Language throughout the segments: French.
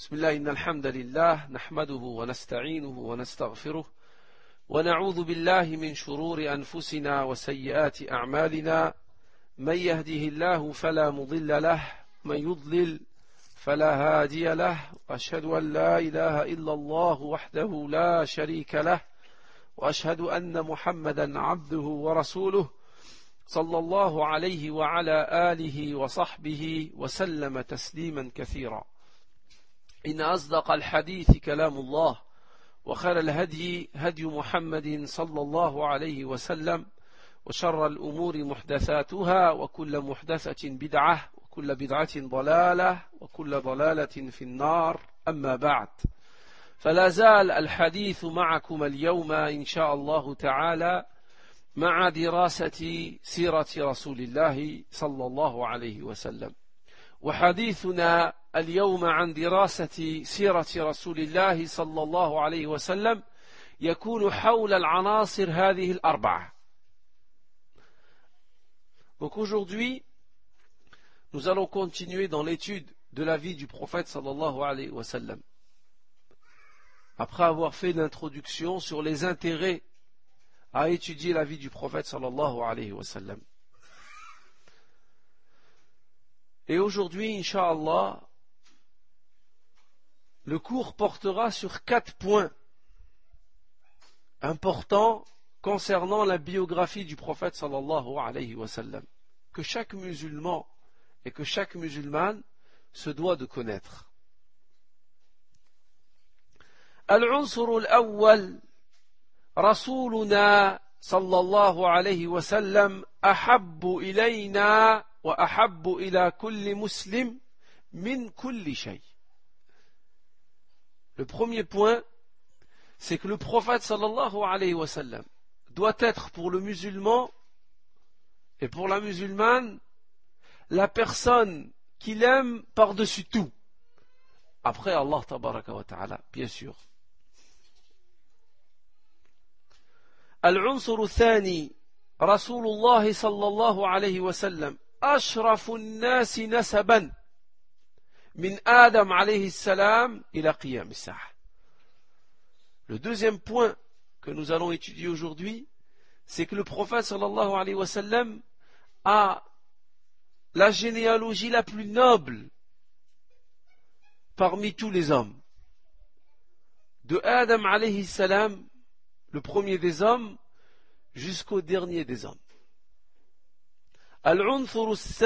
بسم الله إن الحمد لله نحمده ونستعينه ونستغفره ونعوذ بالله من شرور أنفسنا وسيئات أعمالنا من يهده الله فلا مضل له من يضلل فلا هادي له وأشهد أن لا إله إلا الله وحده لا شريك له وأشهد أن محمدا عبده ورسوله صلى الله عليه وعلى آله وصحبه وسلم تسليما كثيرا إن أصدق الحديث كلام الله وخير الهدي هدي محمد صلى الله عليه وسلم وشر الأمور محدثاتها وكل محدثة بدعة وكل بدعة ضلالة وكل ضلالة في النار أما بعد فلا زال الحديث معكم اليوم إن شاء الله تعالى مع دراسة سيرة رسول الله صلى الله عليه وسلم وحديثنا اليوم عن دراسة سيرة رسول الله صلى الله عليه وسلم يكون حول العناصر هذه الأربعة. Donc aujourd'hui, nous allons continuer dans l'étude de la vie du prophète sallallahu alayhi wa sallam. Après avoir fait l'introduction sur les intérêts à étudier la vie du prophète sallallahu alayhi wa sallam. Et aujourd'hui, Inch'Allah, le cours portera sur 4 points importants concernant la biographie du prophète sallallahu alayhi wa sallam, que chaque musulman et que chaque musulmane se doit de connaître. Al-unsur al-awwal, Rasuluna sallallahu alayhi wa sallam, ahabbu ilayna wa ahabbu ila kulli muslim min kulli shay. Le premier point, c'est que le prophète sallallahu alayhi wa sallam doit être pour le musulman et pour la musulmane la personne qu'il aime par-dessus tout. Après Allah tabaraka wa ta'ala, bien sûr. Al-unsur al-thani, Rasulullah sallallahu alayhi wa sallam, ashrafu an-nasi nasaban min Adam alayhi salam ila qiyam as-sa'ah. Le deuxième point que nous allons étudier aujourd'hui, c'est que le prophète sallallahu alayhi wa sallam a la généalogie la plus noble parmi tous les hommes. De Adam alayhi salam, le premier des hommes, jusqu'au dernier des hommes. Al-unsur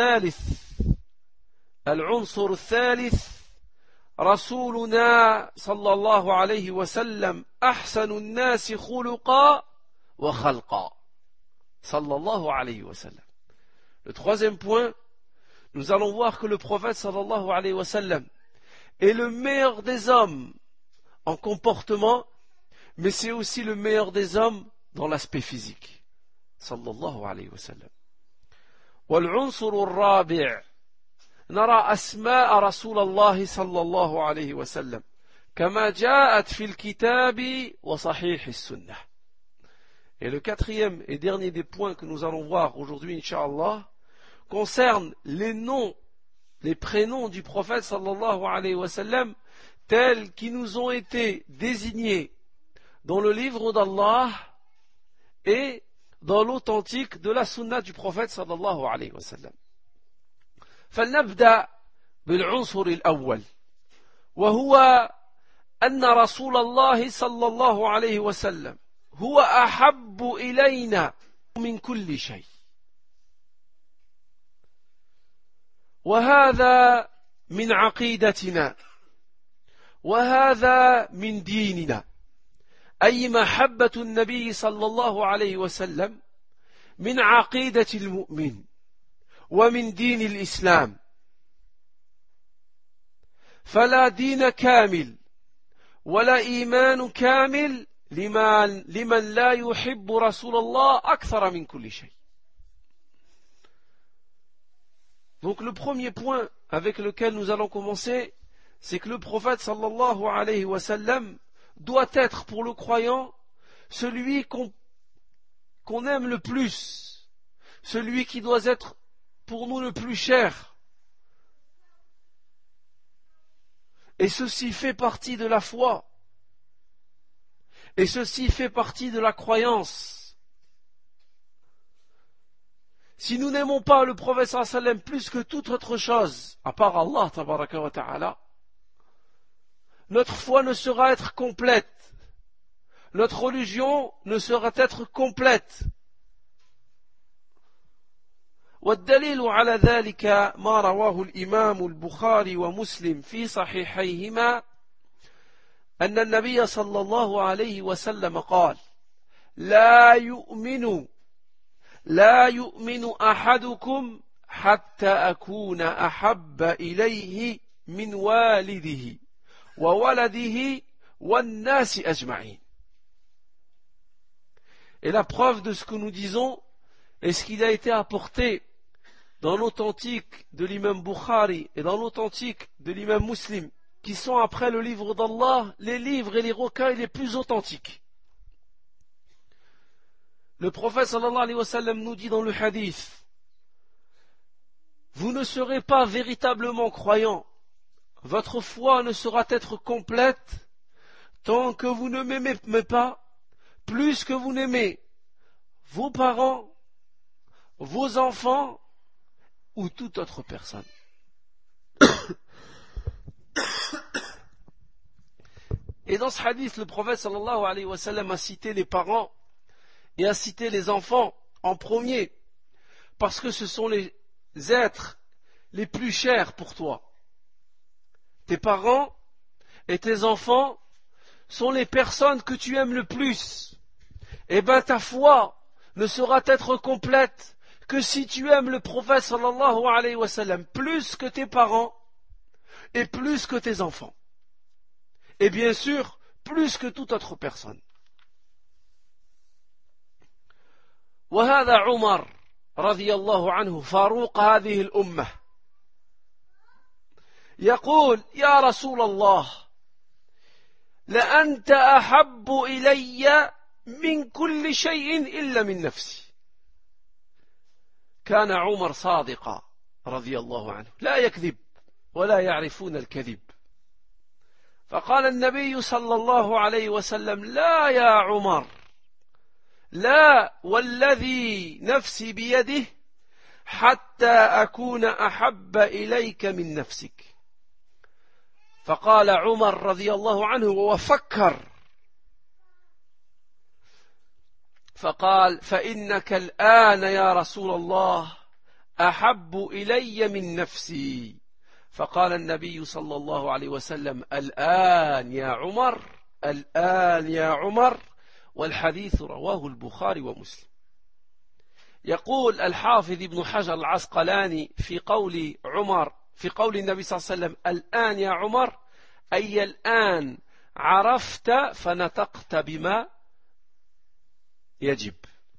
al-thalith, رسولنا صلى الله عليه وسلم أحسن الناس خلقا وخلقا صلى الله عليه وسلم. Le troisième point, nous allons voir que le prophète sallallahu alayhi wa sallam est le meilleur des hommes en comportement, mais c'est aussi le meilleur des hommes dans l'aspect physique. sallallahu alayhi wa sallam. والعنصر الرابع, نرى أسماء رسول الله صلى الله عليه وسلم كما جاءت في الكتاب وصحيح السنة. Et le quatrième et dernier des points que nous allons voir aujourd'hui, Inch'Allah, concerne les noms, les prénoms du prophète sallallahu alayhi wa sallam tels qu'ils nous ont été désignés dans le livre d'Allah et dans l'authentique de la sunna du prophète sallallahu alayhi wa sallam. فلنبدأ بالعنصر الأول وهو أن رسول الله صلى الله عليه وسلم هو أحب إلينا من كل شيء. وهذا من عقيدتنا وهذا من ديننا، أي محبة النبي صلى الله عليه وسلم من عقيدة المؤمن ومن دين الإسلام. فلا دين كامل ولا إيمان كامل لمن لا يحب رسول الله أكثر من كل شيء. Donc le premier point avec lequel nous allons commencer, c'est que le prophète sallallahu alayhi wa sallam doit être pour le croyant celui qu'on aime le plus, celui qui doit être pour nous le plus cher. Et ceci fait partie de la foi. Et ceci fait partie de la croyance. Si nous n'aimons pas le prophète sallallahu alayhi wa sallam plus que toute autre chose, à part Allah tabaraka wa ta'ala, notre foi ne sera être complète. Notre religion ne sera être complète. والدليل على ذلك ما رواه الإمام البخاري ومسلم في صحيحيهما أن النبي صلى الله عليه وسلم قال لا يؤمن أحدكم حتى أكون أحب إليه من والده وولده والناس أجمعين. Et la preuve de ce que nous disons est ce qu'il a été apporté dans l'authentique de l'imam Bukhari et dans l'authentique de l'imam Muslim, qui sont après le livre d'Allah, les livres et les recueils les plus authentiques. Le prophète sallallahu alayhi wa sallam nous dit dans le hadith, vous ne serez pas véritablement croyants, votre foi ne sera être complète tant que vous ne m'aimez pas plus que vous n'aimez vos parents, vos enfants ou toute autre personne. Et dans ce hadith, le prophète sallallahu alayhi wa sallam a cité les parents et a cité les enfants en premier, parce que ce sont les êtres les plus chers pour toi. Tes parents et tes enfants sont les personnes que tu aimes le plus. Eh bien ta foi ne sera être complète que si tu aimes le prophète sallallahu alayhi wa sallam plus que tes parents et plus que tes enfants. Et bien sûr, plus que toute autre personne. وهذا عمر رضي الله عنه فاروق هذه الأمة يقول يا رسول الله لأنت أحب إلي من كل شيء إلا من نفسي. كان عمر صادقا رضي الله عنه لا يكذب ولا يعرفون الكذب. فقال النبي صلى الله عليه وسلم لا يا عمر لا والذي نفسي بيده حتى أكون أحب إليك من نفسك. فقال عمر رضي الله عنه وفكر فقال فإنك الآن يا رسول الله أحب إلي من نفسي. فقال النبي صلى الله عليه وسلم الآن يا عمر الآن يا عمر. والحديث رواه البخاري ومسلم. يقول الحافظ ابن حجر العسقلاني في قول عمر في قول النبي صلى الله عليه وسلم الآن يا عمر أي الآن عرفت فنطقت بما يجب.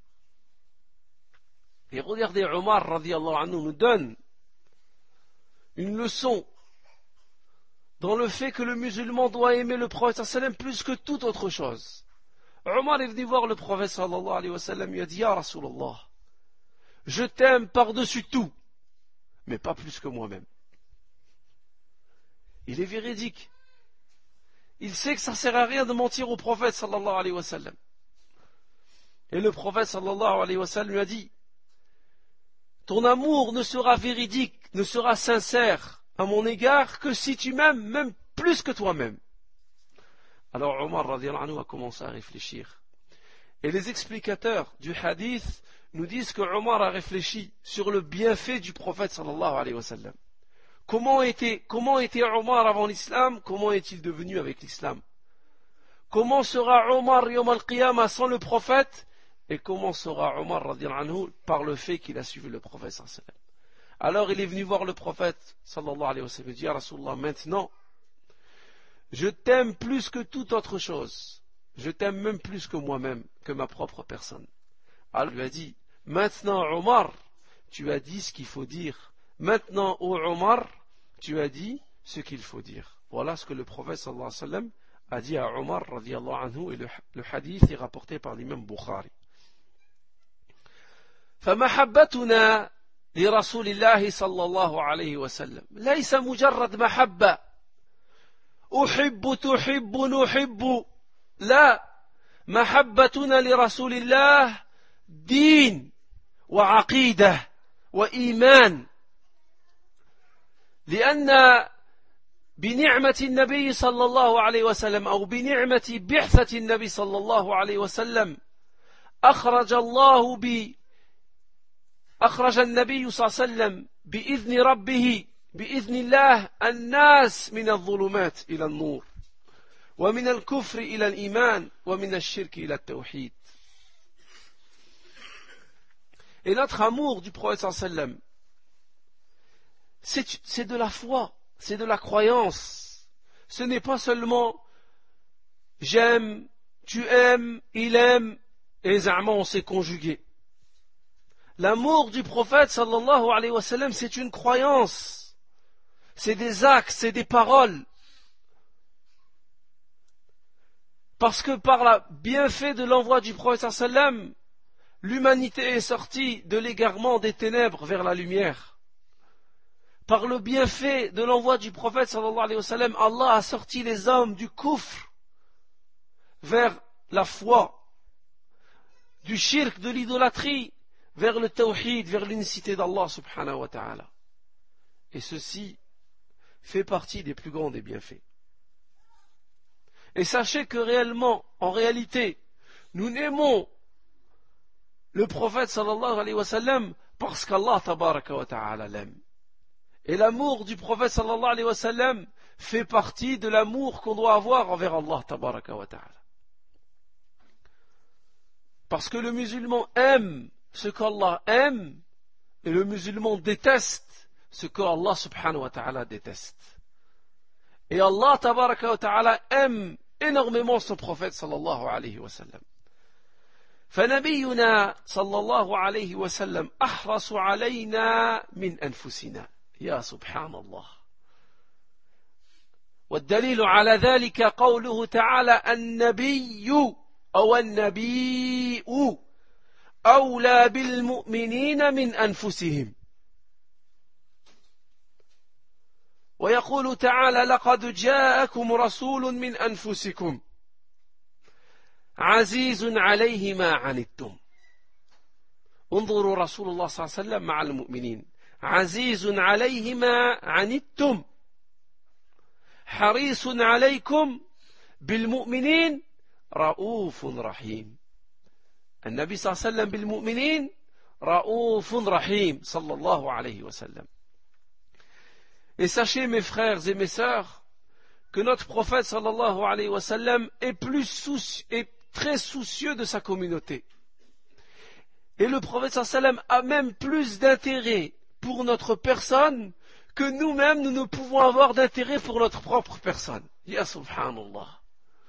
Et regardez, Omar radiallahu anhu nous donne une leçon dans le fait que le musulman doit aimer le prophète sallam plus que toute autre chose. Omar est venu voir le prophète sallallahu alayhi wa sallam, il a dit, Ya Rasulallah, je t'aime par-dessus tout, mais pas plus que moi-même. Il est véridique. Il sait que ça ne sert à rien de mentir au prophète sallallahu alayhi wa sallam. Et le prophète sallallahu alayhi wa sallam lui a dit, ton amour ne sera véridique, ne sera sincère à mon égard que si tu m'aimes même plus que toi-même. Alors Omar radiallahu anhu a commencé à réfléchir. Et les explicateurs du hadith nous disent que Omar a réfléchi sur le bienfait du prophète sallallahu alayhi wa sallam. Comment était Omar avant l'islam? Comment est-il devenu avec l'islam? Comment sera Omar yawm al-qiyamah sans le prophète? Et comment sera Omar radiallahu anhu par le fait qu'il a suivi le prophète sallallahu alayhi wa sallam? Alors il est venu voir le prophète sallallahu alayhi wa sallam. Il dit, Ya Rasulallah, maintenant, je t'aime plus que toute autre chose. Je t'aime même plus que moi-même, que ma propre personne. Alors il lui a dit, maintenant Omar, tu as dit ce qu'il faut dire. Maintenant, ô Omar, tu as dit ce qu'il faut dire. Voilà ce que le prophète sallallahu alayhi wa sallam a dit à Omar radiallahu anhu, et le hadith est rapporté par l'imam Bukhari. فمحبتنا لرسول الله صلى الله عليه وسلم ليس مجرد محبة أحب تحب نحب لا محبتنا لرسول الله دين وعقيدة وإيمان لأن بنعمة النبي صلى الله عليه وسلم أو بنعمة بعثة النبي صلى الله عليه وسلم أخرج النبي صلى الله عليه وسلم بإذن ربه بإذن الله الناس من الظلمات إلى النور ومن الكفر إلى الإيمان ومن الشرك إلى التوحيد. Et notre amour du prophète sallallahu alayhi wa sallam, c'est de la foi, c'est de la croyance. Ce n'est pas seulement j'aime, tu aimes, il aime, et za'ma on s'est conjugué. L'amour du prophète sallallahu alayhi wa sallam, c'est une croyance, c'est des actes, c'est des paroles. Parce que par le bienfait de l'envoi du prophète sallallahu alayhi wa sallam, l'humanité est sortie de l'égarement des ténèbres vers la lumière. Par le bienfait de l'envoi du prophète sallallahu alayhi wa sallam, Allah a sorti les hommes du kufr vers la foi, du shirk, de l'idolâtrie, vers le tawhid, vers l'unicité d'Allah subhanahu wa ta'ala. Et ceci fait partie des plus grands des bienfaits. Et sachez que réellement, en réalité, nous n'aimons le prophète sallallahu alayhi wa sallam parce qu'Allah tabaraka wa ta'ala l'aime. Et l'amour du prophète sallallahu alayhi wa sallam fait partie de l'amour qu'on doit avoir envers Allah tabaraka wa ta'ala. Parce que le musulman aime ce qu'Allah aime et le musulman déteste ce qu'Allah subhanahu wa ta'ala déteste. Et Allah tabaraka wa ta'ala aime énormément son prophète sallallahu alayhi wa sallam. فنبينا صلى الله عليه وسلم أحرص علينا من أنفسنا يا سبحان الله والدليل على ذلك قوله تعالى النبي أو النبي أولى بالمؤمنين من أنفسهم ويقول تعالى لقد جاءكم رسول من أنفسكم عزيز عليه ما عنتم انظروا رسول الله صلى الله عليه وسلم مع المؤمنين عزيز عليه ما عنتم حريص عليكم بالمؤمنين رؤوف رحيم النبي صلى الله عليه وسلم بالمؤمنين رؤوف رحيم صلى الله عليه وسلم. Et sachez mes frères et mes sœurs que notre prophète sallallahu alayhi wa sallam est très soucieux de sa communauté. Et le prophète sallallahu alayhi wa sallam a même plus d'intérêt pour notre personne que nous-mêmes nous ne pouvons avoir d'intérêt pour notre propre personne. Ya subhanallah.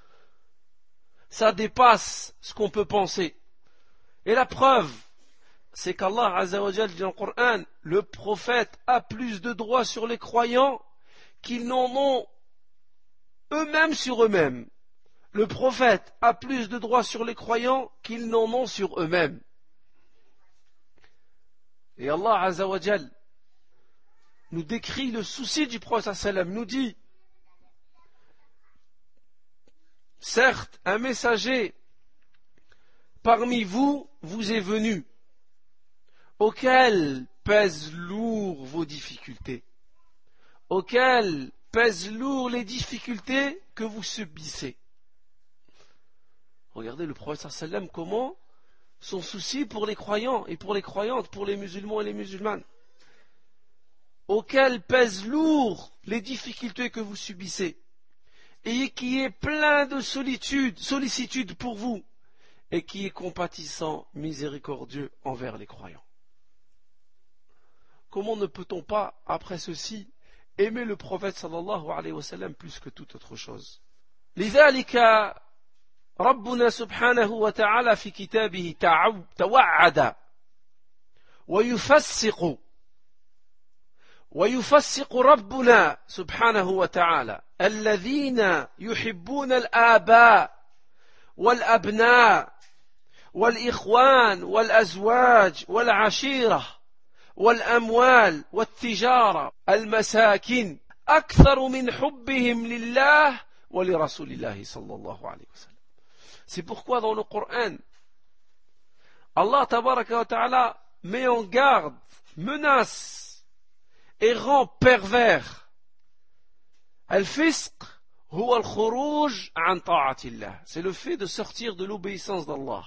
Ça dépasse ce qu'on peut penser. Et la preuve, c'est qu'Allah Azza wa Jal dit dans le Coran, le prophète a plus de droits sur les croyants qu'ils n'en ont eux-mêmes sur eux-mêmes. Le prophète a plus de droits sur les croyants qu'ils n'en ont sur eux-mêmes. Et Allah Azza wa Jal nous décrit le souci du prophète sallam, nous dit certes, un messager parmi vous vous est venu, auquel pèsent lourd vos difficultés, auquel pèsent lourd les difficultés que vous subissez. Regardez le prophète sallam comment son souci pour les croyants et pour les croyantes, pour les musulmans et les musulmanes, auquel pèsent lourd les difficultés que vous subissez et qui est plein de sollicitude pour vous et qui est compatissant, miséricordieux envers les croyants. Comment ne peut-on pas, après ceci, aimer le prophète sallallahu alayhi wa sallam plus que toute autre chose? لذلك ربنا سبحانه وتعالى في كتابه توعد ويفسق ربنا سبحانه وتعالى الذين يحبون الآباء والأبناء والإخوان والأزواج والعشيرة والأموال والتجارة المساكن أكثر من حبهم لله ولرسول الله صلى الله عليه وسلم. C'est pourquoi dans le Coran, Allah tabaraka wa ta'ala met en garde, menace et rend pervers. Al-fisq huwa al-khuruj an ta'atillah. C'est le fait de sortir de l'obéissance d'Allah.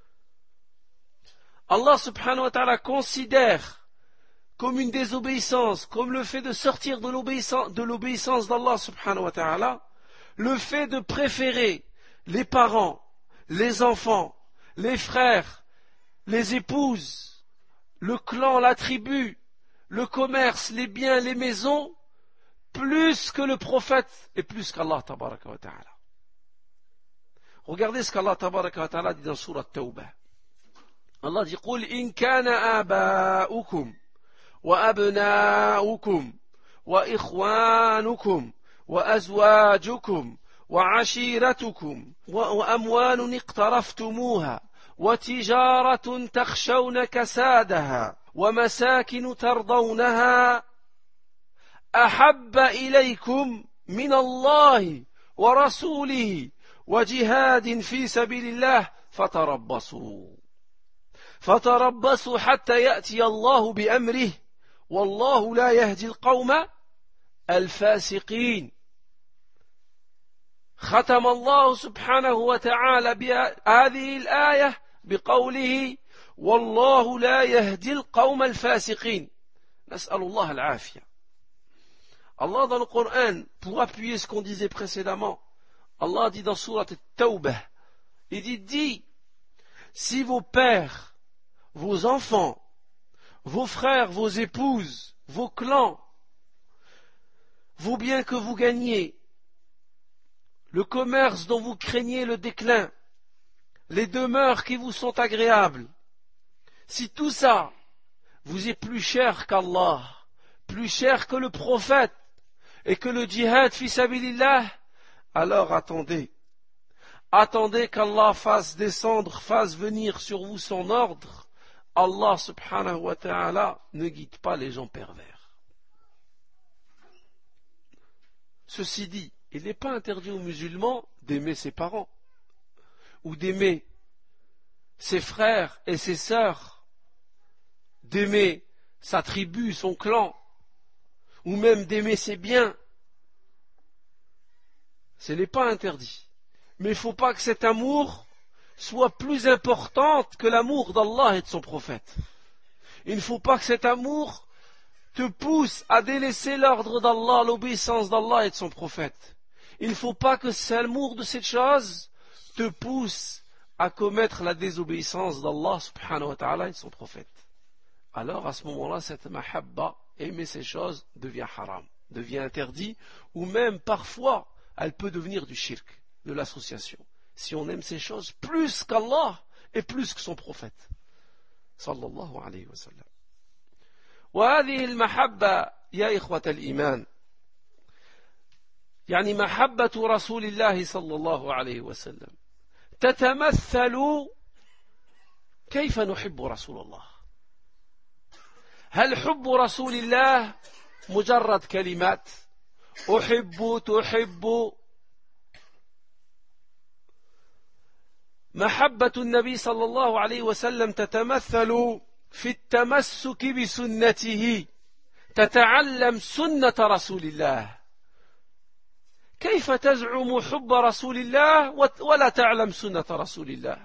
Allah subhanahu wa ta'ala considère comme une désobéissance, comme le fait de sortir de l'obéissance d'Allah subhanahu wa ta'ala, le fait de préférer les parents, les enfants, les frères, les épouses, le clan, la tribu, le commerce, les biens, les maisons, plus que le prophète et plus qu'Allah tabaraka wa ta'ala. Regardez ce qu'Allah tabaraka wa ta'ala dit dans Sourate Tawbah. Allah dit قُلْ إِنْ كَانَ آبَاؤُكُمْ وأبناؤكم وإخوانكم وأزواجكم وعشيرتكم وأموال اقترفتموها وتجارة تخشون كسادها ومساكن ترضونها أحب إليكم من الله ورسوله وجهاد في سبيل الله فتربصوا حتى يأتي الله بأمره والله لا يهدي القوم الفاسقين. ختم الله سبحانه وتعالى بهذه الآية بقوله والله لا يهدي القوم الفاسقين. نسأل الله العافية. Allah dans le Coran, pour appuyer ce qu'on disait précédemment, Allah dit dans Sourate Tawbah, il dit, si vos pères, vos enfants, vos frères, vos épouses, vos clans, vos biens que vous gagnez, le commerce dont vous craignez le déclin, les demeures qui vous sont agréables, si tout ça vous est plus cher qu'Allah, plus cher que le prophète et que le djihad fi sabilillah, alors attendez qu'Allah fasse venir sur vous son ordre. Allah subhanahu wa ta'ala ne guide pas les gens pervers. Ceci dit, il n'est pas interdit aux musulmans d'aimer ses parents ou d'aimer ses frères et ses sœurs, d'aimer sa tribu, son clan, ou même d'aimer ses biens. Ce n'est pas interdit. Mais il ne faut pas que cet amour soit plus important que l'amour d'Allah et de son prophète. Il ne faut pas que cet amour te pousse à délaisser l'ordre d'Allah, l'obéissance d'Allah et de son prophète. Il ne faut pas que l'amour de cette chose te pousse à commettre la désobéissance d'Allah subhanahu wa ta'ala et de son prophète. Alors à ce moment-là, cette mahabba, aimer ces choses, devient haram, devient interdit, ou même parfois elle peut devenir du shirk, de l'association, si on aime ces choses plus qu'Allah et plus que son prophète sallallahu alayhi wa sallam. وهذه المحبة يا إخوة الإيمان يعني محبة رسول الله صلى الله عليه وسلم تتمثل كيف نحب رسول الله. هل حب رسول الله مجرد كلمات أحب تحب؟ محبة النبي صلى الله عليه وسلم تتمثل في التمسك بسنته، تتعلم سنة رسول الله. كيف تزعم حب رسول الله ولا تعلم سنة رسول الله؟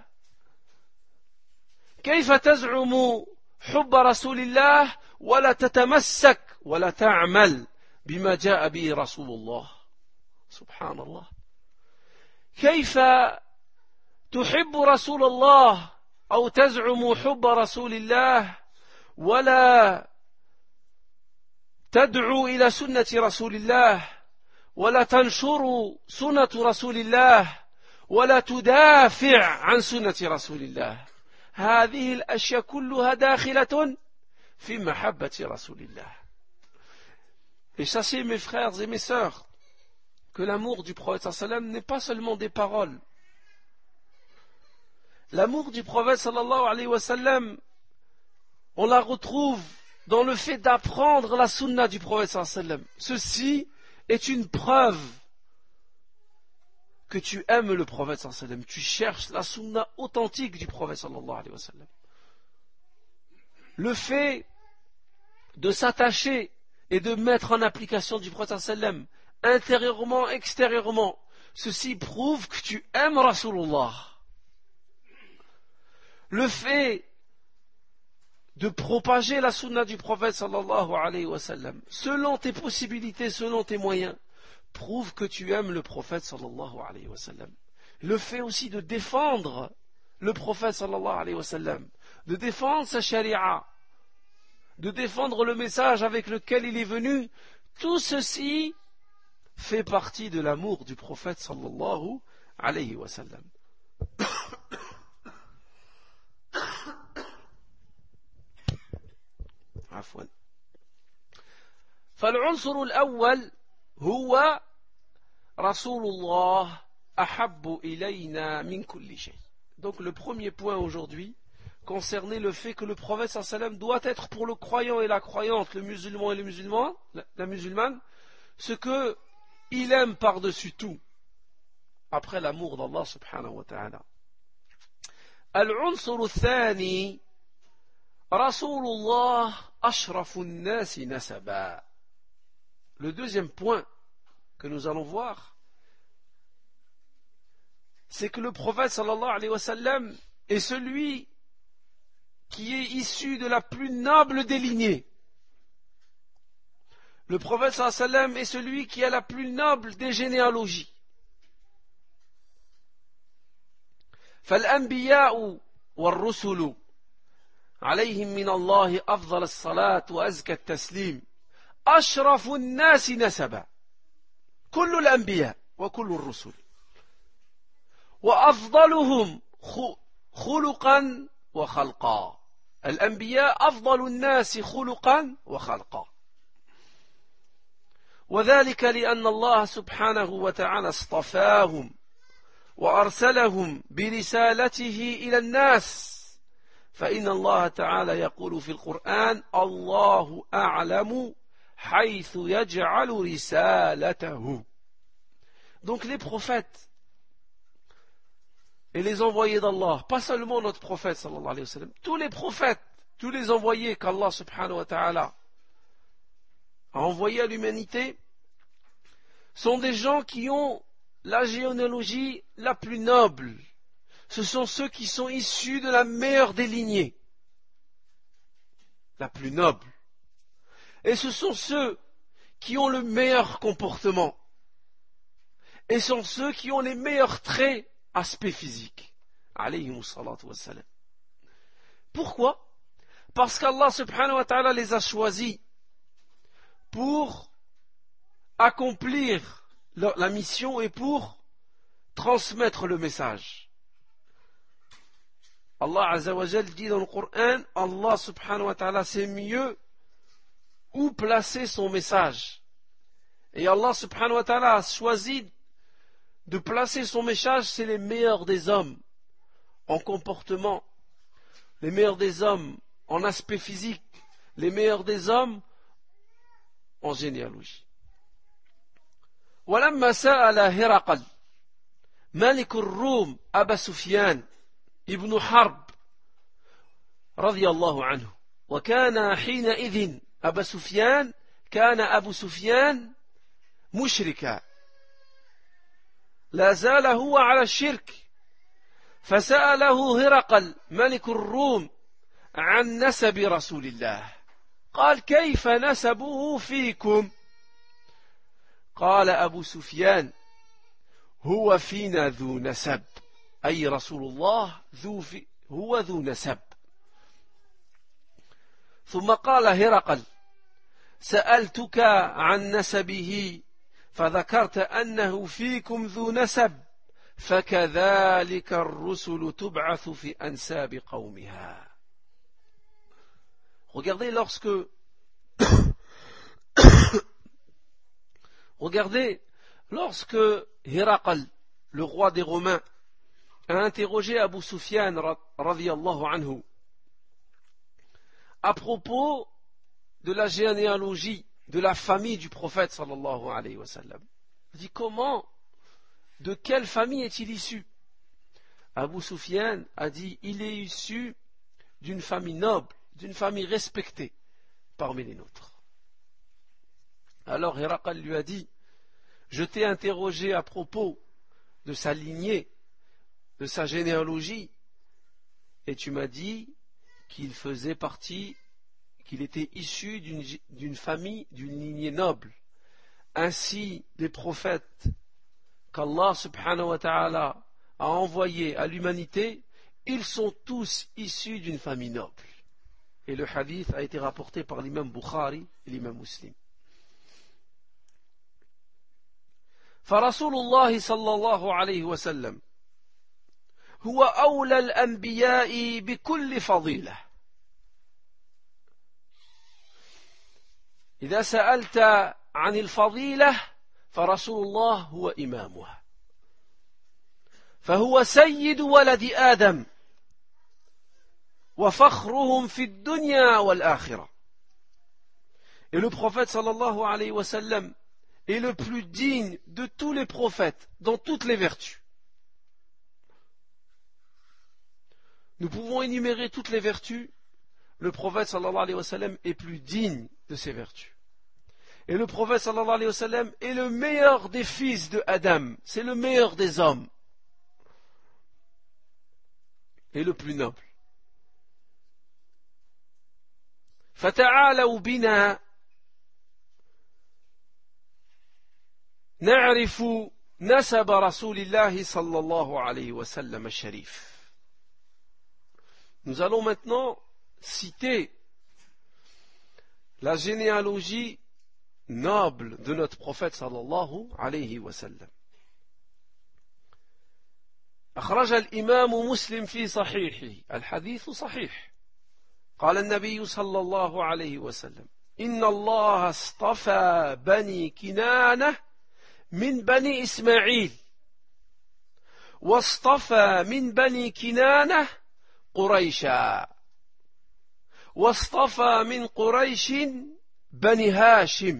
كيف تزعم حب رسول الله ولا تتمسك ولا تعمل بما جاء به رسول الله؟ سبحان الله. كيف تحب رسول الله أو تزعم حب رسول الله ولا تدعو إلى سنة رسول الله ولا تنشر سنة رسول الله ولا تدافع عن سنة رسول الله؟ هذه الأشياء كلها داخلة في محبة رسول الله. Et sachez mes frères et mes sœurs que l'amour du prophète sallallahu alayhi wa sallam n'est pas seulement des paroles. L'amour du prophète sallallahu alayhi wa sallam, on la retrouve dans le fait d'apprendre la sunna du prophète sallallahu alayhi wa sallam. Ceci est une preuve que tu aimes le prophète sallallahu alayhi wa sallam. Tu cherches la sunna authentique du prophète sallallahu alayhi wa sallam. Le fait de s'attacher et de mettre en application du prophète sallallahu alayhi wa sallam, intérieurement, extérieurement, ceci prouve que tu aimes Rasulullah. Le fait de propager la sunna du prophète sallallahu alayhi wa sallam, selon tes possibilités, selon tes moyens, prouve que tu aimes le prophète sallallahu alayhi wa sallam. Le fait aussi de défendre le prophète sallallahu alayhi wa sallam, de défendre sa charia, de défendre le message avec lequel il est venu, tout ceci fait partie de l'amour du prophète sallallahu alayhi wa sallam. عفوا. فالعنصر الأول هو رسول الله أحب إلينا من كل شيء. Donc le premier point aujourd'hui concernait le fait que le prophète sallallahu alayhi wa sallam doit être pour le croyant et la croyante, le musulman et le musulman, la musulmane, ce que il aime par-dessus tout, après l'amour d'Allah subhanahu wa ta'ala. العنصر الثاني رسول الله أشرف الناس نسبا. Le deuxième point que nous allons voir, c'est que le prophète sallallahu alayhi wa sallam est celui qui est issu de la plus noble des lignées. Le prophète sallallahu alayhi wa sallam est celui qui a la plus noble des généalogies. فالأنبياء والرسل عليهم من الله أفضل الصلاة وأزكى التسليم أشرف الناس نسبا. كل الأنبياء وكل الرسل وأفضلهم خلقا وخلقا. الأنبياء أفضل الناس خلقا وخلقا، وذلك لأن الله سبحانه وتعالى اصطفاهم وأرسلهم برسالته إلى الناس. فإن الله تعالى يقول في القرآن الله أعلم حيث يجعل رسالته. Donc les prophètes et les envoyés d'Allah, pas seulement notre prophète sallallahu alayhi wa sallam, tous les prophètes, tous les envoyés qu'Allah subhanahu wa ta'ala a envoyés à l'humanité, sont des gens qui ont la généalogie la plus noble. Ce sont ceux qui sont issus de la meilleure des lignées, la plus noble. Et ce sont ceux qui ont le meilleur comportement. Et sont ceux qui ont les meilleurs traits, aspects physiques. Alayhimus salatu wassalam. Pourquoi? Parce qu'Allah subhanahu wa ta'ala les a choisis pour accomplir la mission et pour transmettre le message. Allah Azza wa Jal dit dans le Coran, Allah subhanahu wa ta'ala sait mieux où placer son message. Et Allah subhanahu wa ta'ala a choisi de placer son message, c'est les meilleurs des hommes en comportement, les meilleurs des hommes en aspect physique, les meilleurs des hommes en généalogie. ولما سأل هرقل ملك الروم أبا سفيان ابن حرب رضي الله عنه، وكان حينئذ أبا سفيان كان أبو سفيان مشركا، لا زال هو على الشرك، فسأله هرقل ملك الروم عن نسب رسول الله، قال كيف نسبه فيكم؟ قال أبو سفيان هو فينا ذو نسب، أي رسول الله هو ذو نسب. ثم قال هرقل سألتك عن نسبه فذكرت أنه فيكم ذو نسب، فكذلك الرسل تبعث في أنساب قومها. Regardez lorsque Héraqal, le roi des Romains, a interrogé Abu Sufyan radiyallahu anhu à propos de la généalogie de la famille du prophète sallallahu alayhi wa sallam. Il dit comment, de quelle famille est-il issu? Abu Sufyan a dit il est issu d'une famille noble, d'une famille respectée parmi les nôtres. Alors Héraqal lui a dit je t'ai interrogé à propos de sa lignée, de sa généalogie, et tu m'as dit qu'il faisait partie, qu'il était issu d'une famille, d'une lignée noble. Ainsi, les prophètes qu'Allah subhanahu wa ta'ala a envoyés à l'humanité, ils sont tous issus d'une famille noble. Et le hadith a été rapporté par l'imam Bukhari et l'imam Muslim. فرسول الله صلى الله عليه وسلم هو أولى الأنبياء بكل فضيلة. إذا سألت عن الفضيلة فرسول الله هو إمامها، فهو سيد ولد آدم وفخرهم في الدنيا والآخرة. Et le prophète sallallahu alayhi wa sallam est le plus digne de tous les prophètes dans toutes les vertus. Nous pouvons énumérer toutes les vertus. Le prophète sallallahu alayhi wa sallam est plus digne de ces vertus. Et le prophète sallallahu alayhi wa sallam est le meilleur des fils de Adam. C'est le meilleur des hommes. Et le plus noble. فتعالوا بنا نعرف نسب رسول الله صلى الله عليه وسلم الشريف. Nous allons maintenant citer la généalogie noble de notre prophète sallallahu alayhi wa sallam. أخرج الإمام مسلم في صحيحه الحديث صحيح. قال النبي صلى الله عليه وسلم إن الله اصطفى بني كنانة من بني إسماعيل واصطفى من بني كنانة قريشا واصطفى من قريش بني هاشم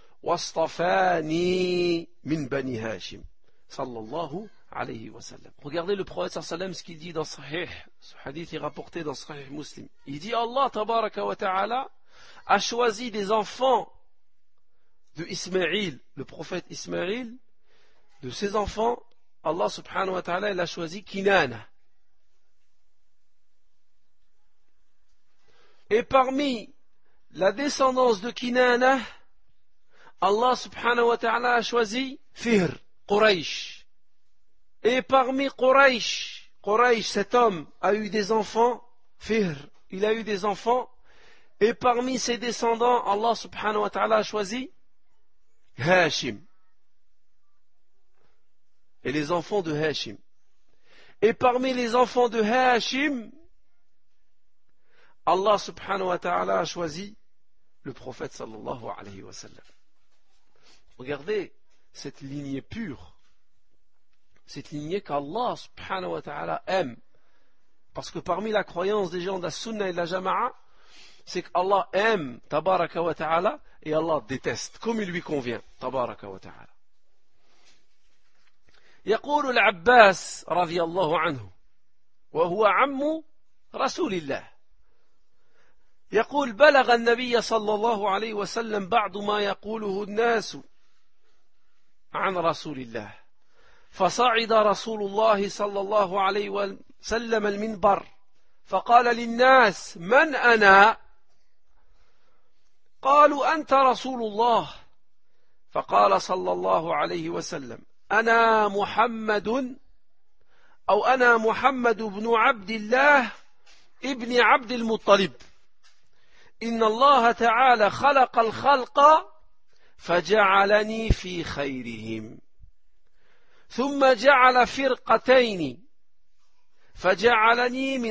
واصطفاني من بني هاشم صلى الله alayhi wa sallam. Regardez le prophète sallallahu alayhi wa sallam ce qu'il dit dans Sahih. Ce hadith est rapporté dans Sahih Muslim. Il dit Allah tabaraka wa ta'ala a choisi des enfants de Ismaïl, le prophète Ismaïl. De ses enfants, Allah subhanahu wa ta'ala il a choisi Kinana. Et parmi la descendance de Kinana, Allah subhanahu wa ta'ala a choisi Fihr, Quraysh. Et parmi Quraysh, cet homme a eu des enfants, Fihr, il a eu des enfants, et parmi ses descendants, Allah subhanahu wa ta'ala a choisi Hashim. Et les enfants de Hashim. Et parmi les enfants de Hashim, Allah subhanahu wa ta'ala a choisi le prophète sallallahu alayhi wa sallam. Regardez cette lignée pure. Cette lignée qu'Allah subhanahu wa ta'ala aime. Parce que parmi la croyance des gens de la sunna et de la jama'a, c'est qu'Allah aime tabaraka wa ta'ala et Allah déteste, comme il lui convient, tabaraka wa ta'ala. يقول العباس رضي الله عنه وهو عم رسول الله يقول بلغ النبي صلى الله عليه وسلم بعض ما يقوله الناس عن رسول الله فصعد رسول الله صلى الله عليه وسلم المنبر فقال للناس من أنا؟ قالوا أنت رسول الله فقال صلى الله عليه وسلم أنا محمد بن عبد الله ابن عبد المطلب إن الله تعالى خلق الخلق فجعلني في خيرهم ثم جعل فرقتين فجعلني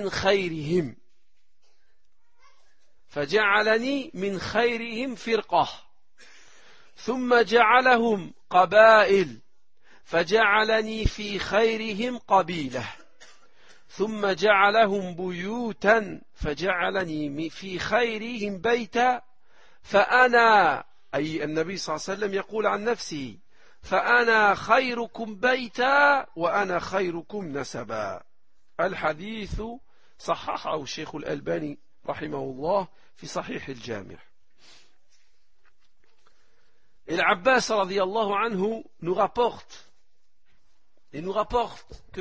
من خيرهم فرقة ثم جعلهم قبائل فجعلني في خيرهم قبيلة ثم جعلهم بيوتا فجعلني في خيرهم بيتا فأنا أي النبي صلى الله عليه وسلم يقول عن نفسه فأنا خيركم بيتا وأنا خيركم نسبا. الحديث صححه الشيخ الألباني رحمه الله في صحيح الجامع. Et l'Abbas radiyallahu anhu nous rapporte que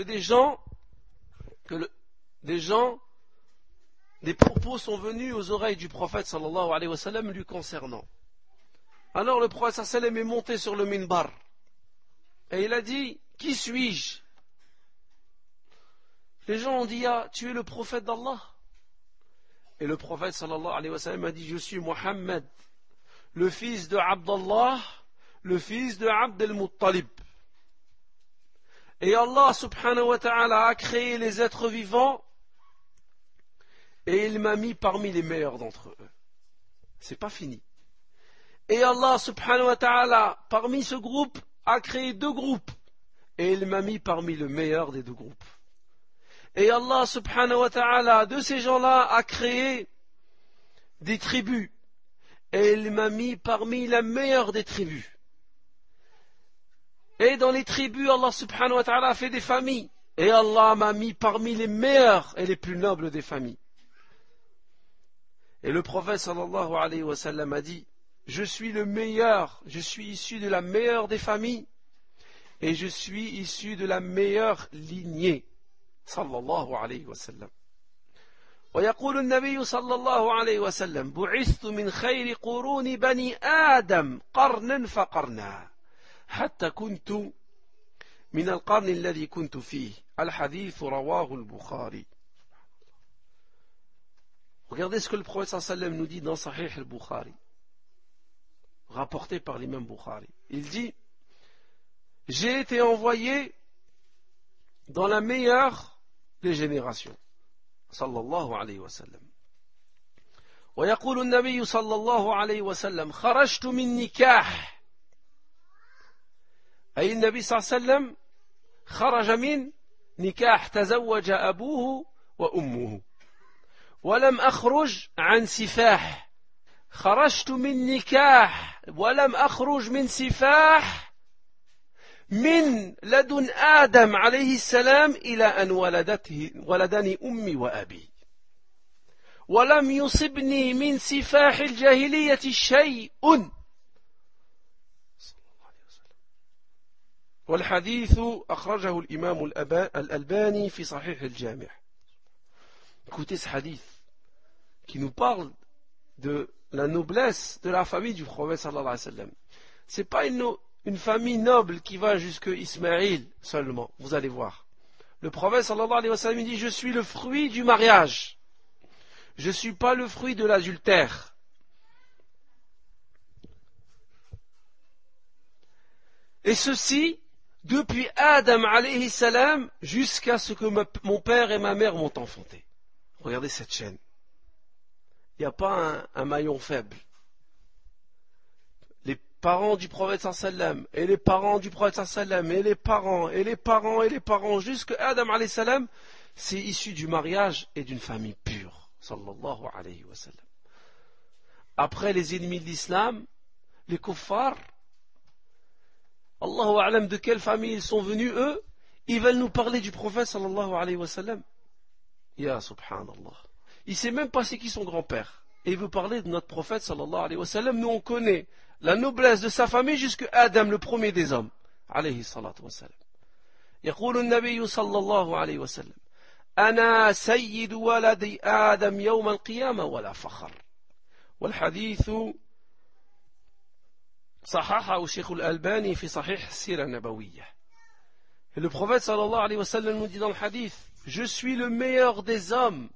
des propos sont venus aux oreilles du prophète sallallahu alayhi wa sallam lui concernant. Alors le prophète sallallahu alayhi wa sallam est monté sur le minbar et il a dit: qui suis-je? Les gens ont dit: ah, tu es le prophète d'Allah. Et le prophète sallallahu alayhi wa sallam a dit: je suis Muhammad, le fils de Abdallah, le fils de Abd al-Muttalib. Et Allah subhanahu wa ta'ala a créé les êtres vivants et il m'a mis parmi les meilleurs d'entre eux. C'est pas fini. Et Allah subhanahu wa ta'ala, parmi ce groupe, a créé deux groupes et il m'a mis parmi le meilleur des deux groupes. Et Allah subhanahu wa ta'ala, de ces gens-là, a créé des tribus et il m'a mis parmi la meilleure des tribus. Et dans les tribus, Allah subhanahu wa ta'ala a fait des familles. Et Allah m'a mis parmi les meilleures et les plus nobles des familles. Et le prophète sallallahu alayhi wa sallam a dit: je suis le meilleur, je suis issu de la meilleure des familles et je suis issu de la meilleure lignée. Sallallahu alayhi wa sallam. ويقول النبي صلى الله عليه وسلم: بعثت من خير قرون بني آدم قرنا فقرنا حتى كنت من القرن الذي كنت فيه. الحديث رواه البخاري. Regardez ce que le prophète sallallahu alayhi wa sallam nous dit dans Sahih al-Bukhari, rapporté par l'imam Bukhari. Il dit: j'ai été envoyé dans la meilleure des générations. صلى الله عليه وسلم. ويقول النبي صلى الله عليه وسلم: خرجت من نكاح. أي النبي صلى الله عليه وسلم خرج من نكاح تزوج أبوه وأمه. ولم أخرج عن سفاح. خرجت من نكاح ولم أخرج من سفاح من لدن آدم عليه السلام إلى أن ولدني أمي وأبي. ولم يصبني من سفاح الجاهلية شيء. والحديث أخرجه الإمام الألباني في صحيح الجامع. Écoutez ce hadith qui nous parle de la noblesse de la famille du prophète sallallahu alayhi wa sallam. C'est pas une famille noble qui va jusque Ismaïl seulement, vous allez voir. Le prophète sallallahu alayhi wa sallam dit: je suis le fruit du mariage. Je ne suis pas le fruit de l'adultère. Et ceci depuis Adam alayhi salam jusqu'à ce que mon père et ma mère m'ont enfanté. Regardez cette chaîne. Il n'y a pas un maillon faible. Les parents du prophète sallam et les parents du prophète sallam et les parents et les parents et les parents jusqu'à Adam alayhi salam, c'est issu du mariage et d'une famille pure. Sallallahu alayhi wa sallam. Après les ennemis de l'islam, les kuffars, Allahu a'lam de quelle famille ils sont venus eux, ils veulent nous parler du prophète sallallahu alayhi wa sallam. Ya subhanallah. Il ne sait même pas c'est qui son grand-père. Et il veut parler de notre prophète sallallahu alayhi wa sallam. Nous on connaît la noblesse de sa famille jusqu'à Adam, le premier des hommes. Alayhi salatu wa sallam. يقول النبي صلى الله عليه وسلم: أنا سيد ولد آدم يوم القيامة ولا فخر. والحديث صححه الشيخ الألباني في صحيح السيرة النبوية. Et le prophète sallallahu alayhi wa sallam nous dit dans le hadith: je suis le meilleur des hommes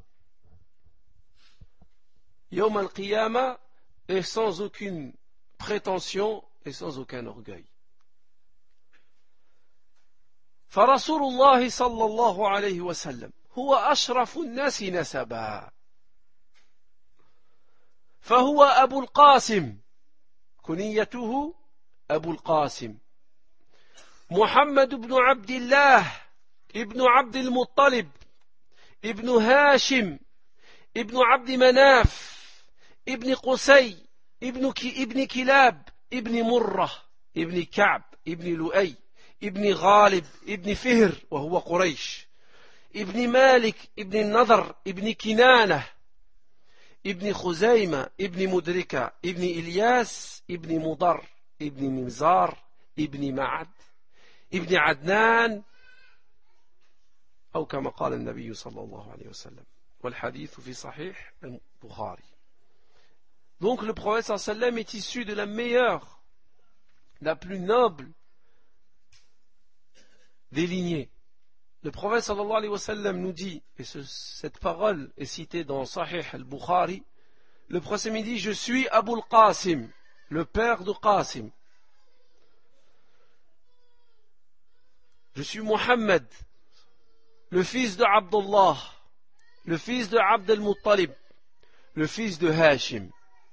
Yawm al-Qiyamah, et sans aucune prétention et sans aucun orgueil. فرسول الله صلى الله عليه وسلم هو أشرف الناس نسبا، فهو أبو القاسم، كنيته أبو القاسم، محمد بن عبد الله ابن عبد المطلب ابن هاشم ابن عبد مناف ابن قسي ابن كلاب ابن مرة ابن كعب ابن لؤي ابن غالب ابن فهر وهو قريش ابن مالك ابن النضر ابن كنانة ابن خزيمة ابن مدركة ابن إلياس ابن مضر ابن نمزار ابن معد ابن عدنان أو كما قال النبي صلى الله عليه وسلم والحديث في صحيح البخاري. Donc le prophète sallallahu alayhi wa sallam est issu de la meilleure, la plus noble des lignées. Le prophète sallallahu alayhi wa sallam nous dit, et cette parole est citée dans Sahih al-Bukhari, le prophète dit: je suis Abu al-Qasim, le père de Qasim. Je suis Muhammad, le fils de Abdullah, le fils de Abd al-Muttalib, le fils de Hashim,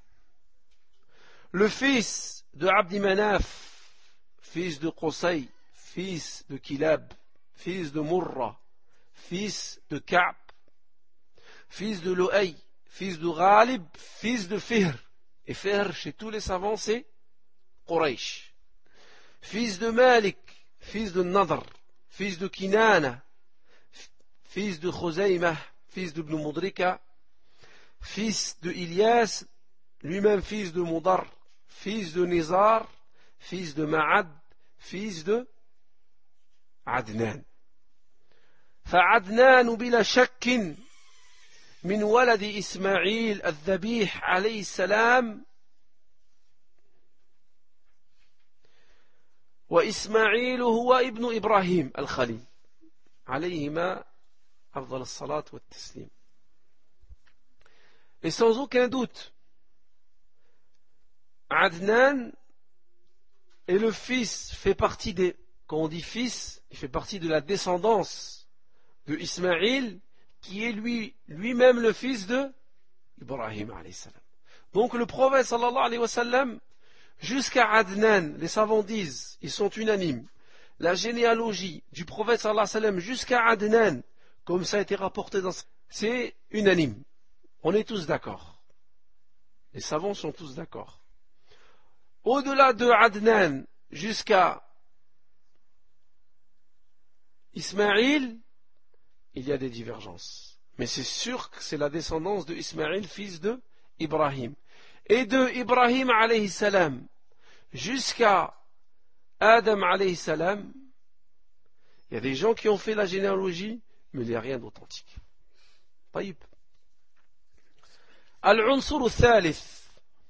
le fils de Abdi Manaf, fils de Qusay, fils de Kilab, fils de Murra, fils de Ka'b, fils de Lu'ay, fils de Ghalib, fils de Fihr. Et Fihr, chez tous les savants, c'est Quraysh. Fils de Malik, fils de Nadr, fils de Kinana, fils de Khuzaymah, fils de Ibn Mudrika, fils de Ilyas, lui-même fils de Mudar, fils de Nizar, fils de Ma'ad, fils de عدنان. فعدنان بلا شك من ولد إسماعيل الذبيح عليه السلام وإسماعيل هو ابن إبراهيم الخليل عليهما أفضل الصلاة والتسليم. Et sans aucun doute, Adnan est le fils, fait partie des, quand on dit fils, il fait partie de la descendance de Ismaïl, qui est lui-même le fils de Ibrahim alayhi salam. Donc le prophète sallallahu alayhi wa sallam, jusqu'à Adnan, les savants disent, ils sont unanimes, la généalogie du prophète sallallahu alayhi wa sallam jusqu'à Adnan, comme ça a été rapporté dans, c'est unanime. On est tous d'accord. Les savants sont tous d'accord. Au-delà de Adnan jusqu'à Ismaïl, il y a des divergences. Mais c'est sûr que c'est la descendance de Ismaïl, fils de Ibrahim. Et de Ibrahim alayhi salam jusqu'à Adam alayhi salam, il y a des gens qui ont fait la généalogie, mais il n'y a rien d'authentique. طيب. العنصر الثالث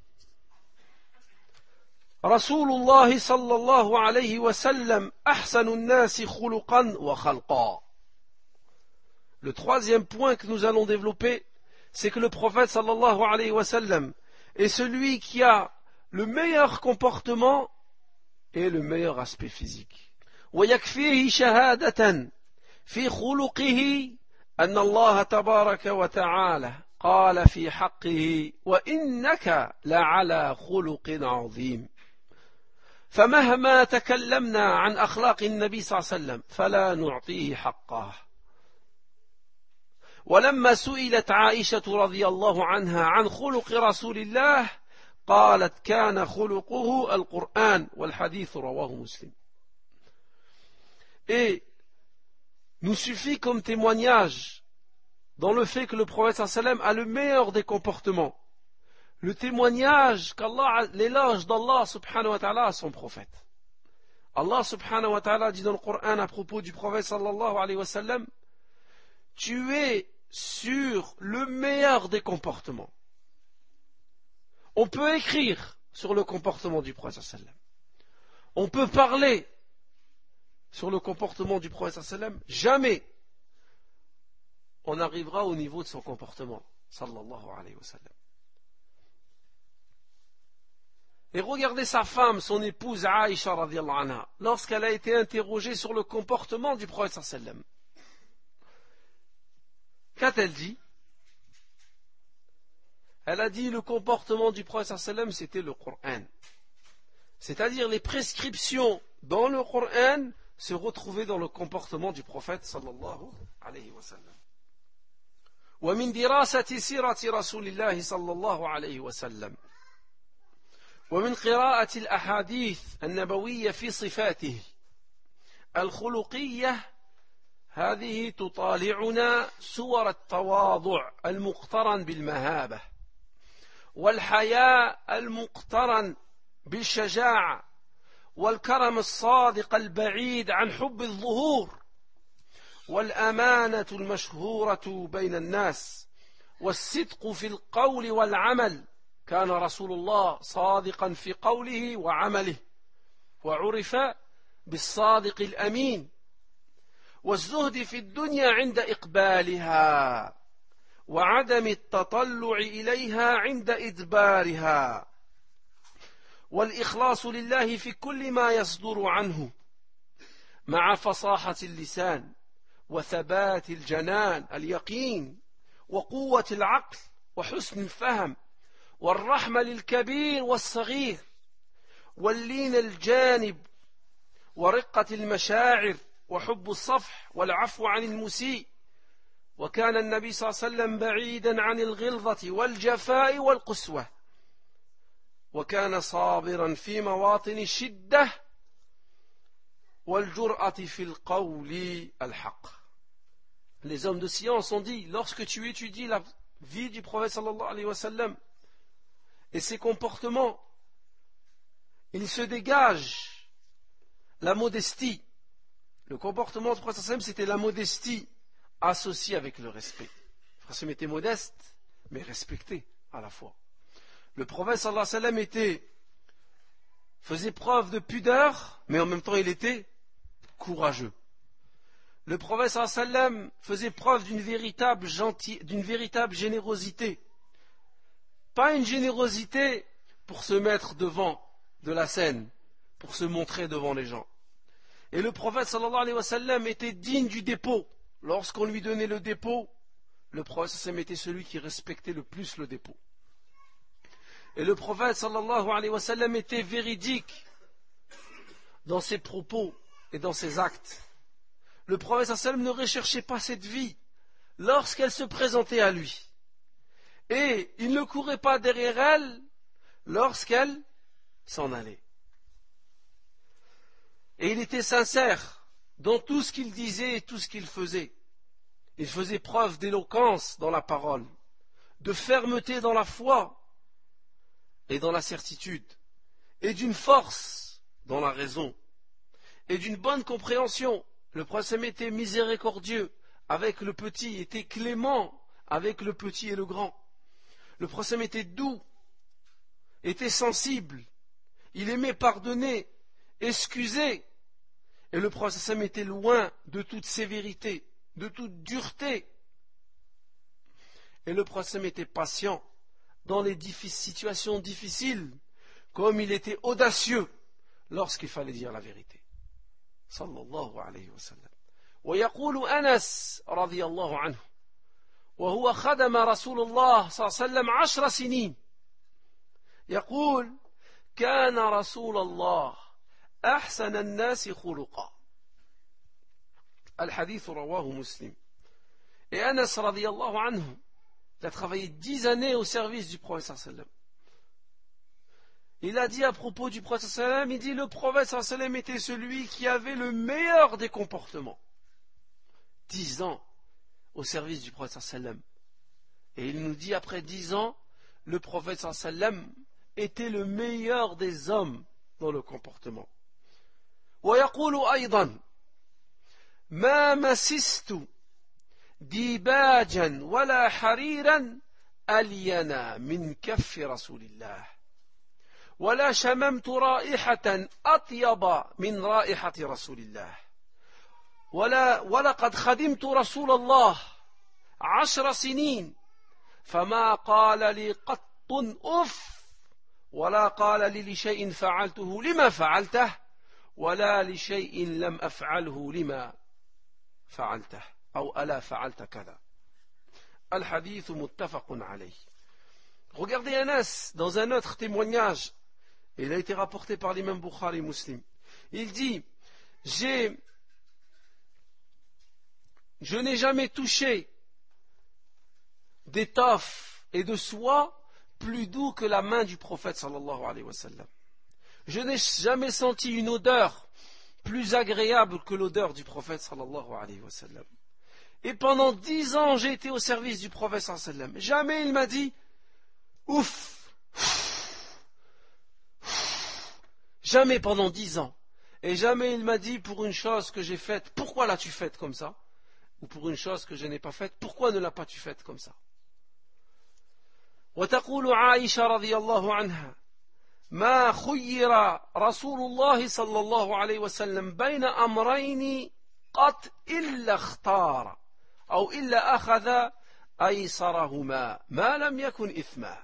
رسول الله صلى الله عليه وسلم أحسن الناس خلقا وخلقا. Le troisième point que nous allons développer, c'est que le prophète sallallahu alayhi wa sallam est celui qui a le meilleur comportement et le meilleur aspect physique. ويكفيه شهادة في خلقه أن الله تبارك وتعالى قال في حقه وإنك لعلى خلق عظيم. فمهما تكلمنا عن أخلاق النبي صلى الله عليه وسلم فلا نعطيه حقه. ولما سئلت عائشة رضي الله عنها عن خلق رسول الله قالت كان خلقه القرآن والحديث رواه مسلم. Et nous suffit comme témoignage dans le fait que le prophète sallam a le meilleur des comportements, le témoignage qu'Allah, l'éloge d'Allah subhanahu wa ta'ala à son prophète. Allah subhanahu wa ta'ala dit dans le Coran à propos du prophète sallallahu alayhi wa sallam: tu es sur le meilleur des comportements. On peut écrire sur le comportement du prophète sallallahu alayhi wa sallam. On peut parler sur le comportement du prophète sallallahu alayhi wa sallam. Jamais on arrivera au niveau de son comportement sallallahu alayhi wa sallam. Et regardez sa femme, son épouse Aïcha radhiyallahu anha, lorsqu'elle a été interrogée sur le comportement du prophète sallallahu alayhi wa sallam. Qu'a-t-elle dit? Elle a dit le comportement du prophète sallallahu alayhi wa sallam, c'était le Coran. C'est-à-dire les prescriptions dans le Coran se retrouvaient dans le comportement du prophète sallallahu alayhi wa sallam. ومن دراسة سيرة رسول الله صلى الله عليه وسلم ومن قراءة الأحاديث النبوية في صفاته الخلقية هذه تطالعنا صور التواضع المقترن بالمهابة والحياء المقترن بالشجاعة والكرم الصادق البعيد عن حب الظهور والأمانة المشهورة بين الناس والصدق في القول والعمل. كان رسول الله صادقا في قوله وعمله وعرف بالصادق الأمين والزهد في الدنيا عند إقبالها وعدم التطلع إليها عند إدبارها والإخلاص لله في كل ما يصدر عنه مع فصاحة اللسان وثبات الجنان اليقين وقوة العقل وحسن الفهم والرحمة للكبير والصغير واللين الجانب ورقة المشاعر وحب الصفح والعفو عن المسيء. وكان النبي صلى الله عليه وسلم بعيدا عن الغلظة والجفاء والقسوة وكان صابرا في مواطن الشدة والجرأة في القول الحق. Les hommes de science ont dit, lorsque tu étudies la vie du prophète sallallahu alayhi wa sallam et ses comportements, il se dégage la modestie. Le comportement du prophète sallallahu alayhi wa sallam, c'était la modestie associée avec le respect. Le prophète sallallahu était modeste, mais respecté à la fois. Le prophète sallallahu alayhi wa sallam faisait preuve de pudeur, mais en même temps il était courageux. Le prophète sallallahu alayhi wa sallam faisait preuve d'une véritable générosité. Pas une générosité pour se mettre devant de la scène, pour se montrer devant les gens. Et le prophète sallallahu alayhi wa sallam était digne du dépôt. Lorsqu'on lui donnait le dépôt, le prophète sallallahu alayhi wa sallam était celui qui respectait le plus le dépôt. Et le prophète sallallahu alayhi wa sallam était véridique dans ses propos et dans ses actes. Le prophète sallallahu alayhi wa sallam ne recherchait pas cette vie lorsqu'elle se présentait à lui. Et il ne courait pas derrière elle lorsqu'elle s'en allait. Et il était sincère dans tout ce qu'il disait et tout ce qu'il faisait. Il faisait preuve d'éloquence dans la parole, de fermeté dans la foi et dans la certitude, et d'une force dans la raison, et d'une bonne compréhension. Le prophète était miséricordieux avec le petit, était clément avec le petit et le grand. Le prophète était doux, était sensible, il aimait pardonner, excuser. Et le prophète était loin de toute sévérité, de toute dureté. Et le prophète était patient dans les situations difficiles, comme il était audacieux lorsqu'il fallait dire la vérité. Sallallahu alayhi wa sallam. ويقول أنس رضي الله عنه وهو خدم رسول الله صلى الله عليه وسلم 10 سنين يقول كان رسول الله أحسن الناس خلقا. الحديث رواه مسلم. Et Anas radiyallahu anhu, il a travaillé 10 années au service du prophète sallallahu alayhi wa sallam. Il a dit à propos du prophète sallallahu alayhi wa sallam, il dit le prophète sallallahu alayhi wa sallam était celui qui avait le meilleur des comportements. 10 ans au service du prophète sallallahu alayhi wa sallam. Et il nous dit après 10 ans, le prophète sallallahu alayhi wa sallam était le meilleur des hommes dans le comportement. ويقول أيضا ما مسست ديباجا ولا حريرا ألينا من كف رسول الله ولا شممت رائحة أطيب من رائحة رسول الله ولقد خدمت رسول الله 10 سنين فما قال لي قط أف ولا قال لي لشيء فعلته لما فعلته ولا لشيء لم أفعله لما فعلته أو ألا فعلت كذا. الحديث متفق عليه. Regardez Anas dans un autre témoignage, il a été rapporté par l'imam Bukhari Muslim. Il dit je n'ai jamais touché d'étoffe et de soie plus doux que la main du prophète sallallahu alayhi wa sallam. Je n'ai jamais senti une odeur plus agréable que l'odeur du prophète sallallahu alayhi wa sallam. Et pendant 10 ans, j'ai été au service du prophète sallallahu alayhi wa sallam. Jamais il m'a dit ouf. Jamais pendant 10 ans. Et jamais il m'a dit pour une chose que j'ai faite, pourquoi l'as-tu faite comme ça? Ou pour une chose que je n'ai pas faite, pourquoi ne l'as-tu faite comme ça? وتقول عائشة رضي الله عنها ما خير رسول الله صلى الله عليه وسلم بين أمرين قط إلا اختار أو إلا أخذ أيسرهما ما لم يكن إثما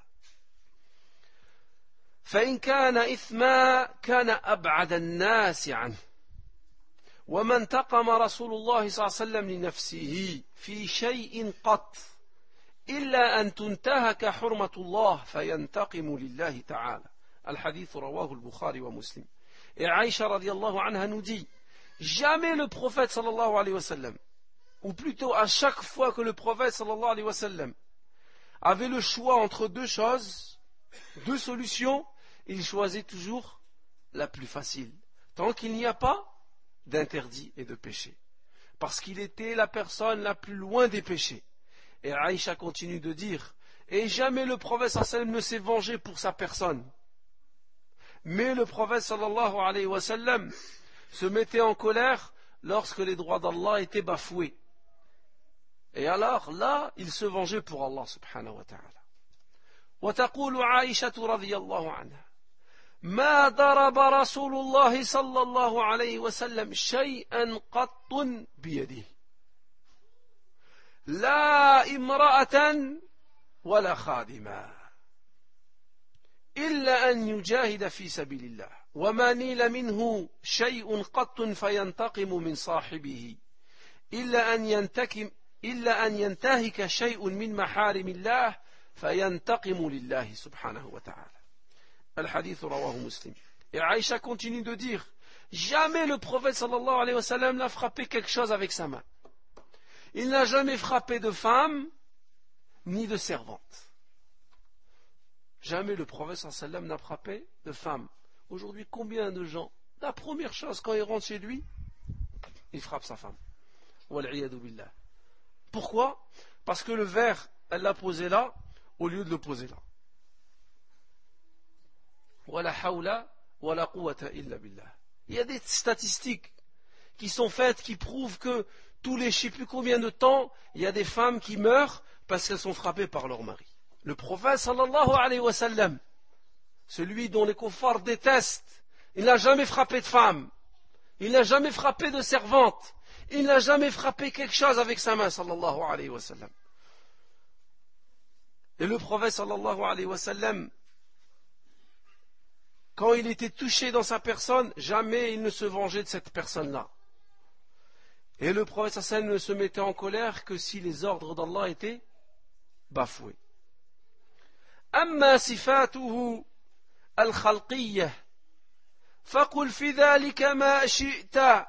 فإن كان إثما كان أبعد الناس عنه وما انتقم رسول الله صلى الله عليه وسلم لنفسه في شيء قط إلا أن تنتهك حرمة الله فينتقم لله تعالى. الحديث رواه البخاري ومسلم. Et Aïcha radiallahu anha nous dit, jamais le prophète sallallahu alayhi wa sallam, ou plutôt à chaque fois que le prophète sallallahu alayhi wa sallam avait le choix entre deux choses, deux solutions, il choisit toujours la plus facile, tant qu'il n'y a pas d'interdit et de péché. Parce qu'il était la personne la plus loin des péchés. Et Aïcha continue de dire, et jamais le prophète sallallahu alayhi wa sallam ne s'est vengé pour sa personne. Mais le prophète sallallahu alayhi wa sallam se mettait en colère lorsque les droits d'Allah étaient bafoués. Et alors là, il se vengeait pour Allah subhanahu wa ta'ala. وتقول عائشة رضي الله عنها ما ضرب رسول الله صلى الله عليه وسلم شيئا قط بيده لا امرأة ولا خادما إلا أن يجاهد في سبيل الله وما نيل منه شيء قط فينتقم من صاحبه إلا أن ينتهك شيء من محارم الله فينتقم لله سبحانه وتعالى. الحديث رواه مسلم. Et Aïcha continue de dire, jamais le prophète sallallahu alayhi wa sallam n'a frappé quelque chose avec sa main. Il n'a jamais frappé de femme ni de servante. Jamais le prophète sallallahu alayhi wa sallam n'a frappé de femme. Aujourd'hui, combien de gens, la première chose quand il rentre chez lui, il frappe sa femme. Wal'iyadu billah. Pourquoi? Parce que le verre, elle l'a posé là, au lieu de le poser là. Wala hawla wala quwwata illa billah. Il y a des statistiques qui sont faites qui prouvent que tous les je ne sais plus combien de temps, il y a des femmes qui meurent parce qu'elles sont frappées par leur mari. Le prophète sallallahu alayhi wa sallam, celui dont les kuffars détestent, il n'a jamais frappé de femme, il n'a jamais frappé de servante, il n'a jamais frappé quelque chose avec sa main sallallahu alayhi wa sallam. Et le prophète sallallahu alayhi wa sallam, quand il était touché dans sa personne, jamais il ne se vengeait de cette personne-là. Et le prophète sallallahu alayhi wa sallam ne se mettait en colère que si les ordres d'Allah étaient bafoués. أما صفاته الخلقية فقل في ذلك ما شئت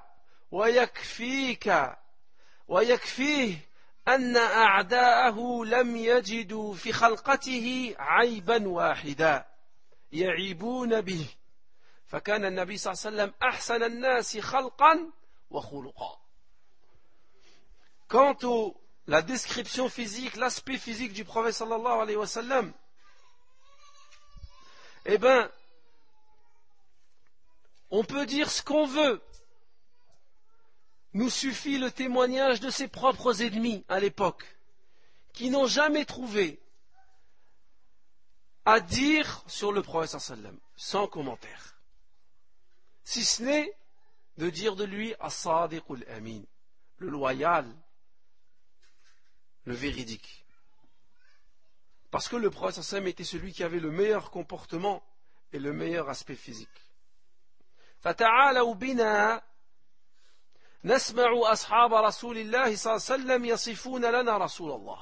ويكفيه أن أعداءه لم يجدوا في خلقته عيبا واحدا يعيبون به فكان النبي صلى الله عليه وسلم أحسن الناس خلقا وخلقا. Quant à la description physique, l'aspect physique du prophète sallallahu alayhi wa sallam, eh bien, on peut dire ce qu'on veut. Nous suffit le témoignage de ses propres ennemis à l'époque, qui n'ont jamais trouvé à dire sur le prophète sallallahu alayhi wa sallam, sans commentaire. Si ce n'est de dire de lui as-sadiqul amin, le loyal, le véridique. Parce que le prophète sallallahu alayhi wa sallam était celui qui avait le meilleur comportement et le meilleur aspect physique. فَتَعَالَوْا بِنَا نَسْمَعُ أَصْحَابَ رَسُولِ اللَّهِ صلى الله عليه وسلم يصفون لنا رسول الله.